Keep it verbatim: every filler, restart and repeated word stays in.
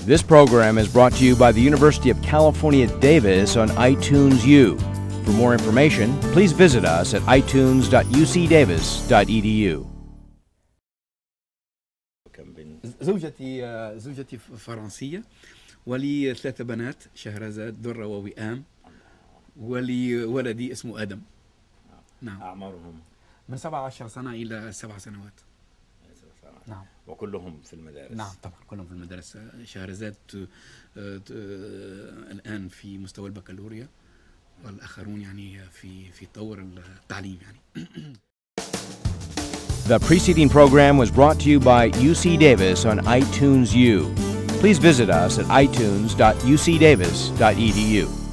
This program is brought to you by the University of California, Davis on iTunes U. For more information, please visit us at i tunes dot u c davis dot e d u. زوجتي زوجتي فرنسية، ولي ثلاثة بنات، شهرزاد، درة، ووئام، ولي ولدي اسمه آدم. نعم. أعمارهم من سبعة عشر سنة إلى سبع سنوات. نعم. وكلهم في المدارس. نعم طبعا كلهم في المدارس. شهرزاد الآن في مستوى البكالوريا، والآخرون يعني في في طور التعليم يعني. The preceding program was brought to you by U C Davis on iTunes U. Please visit us at i tunes dot u c davis dot e d u.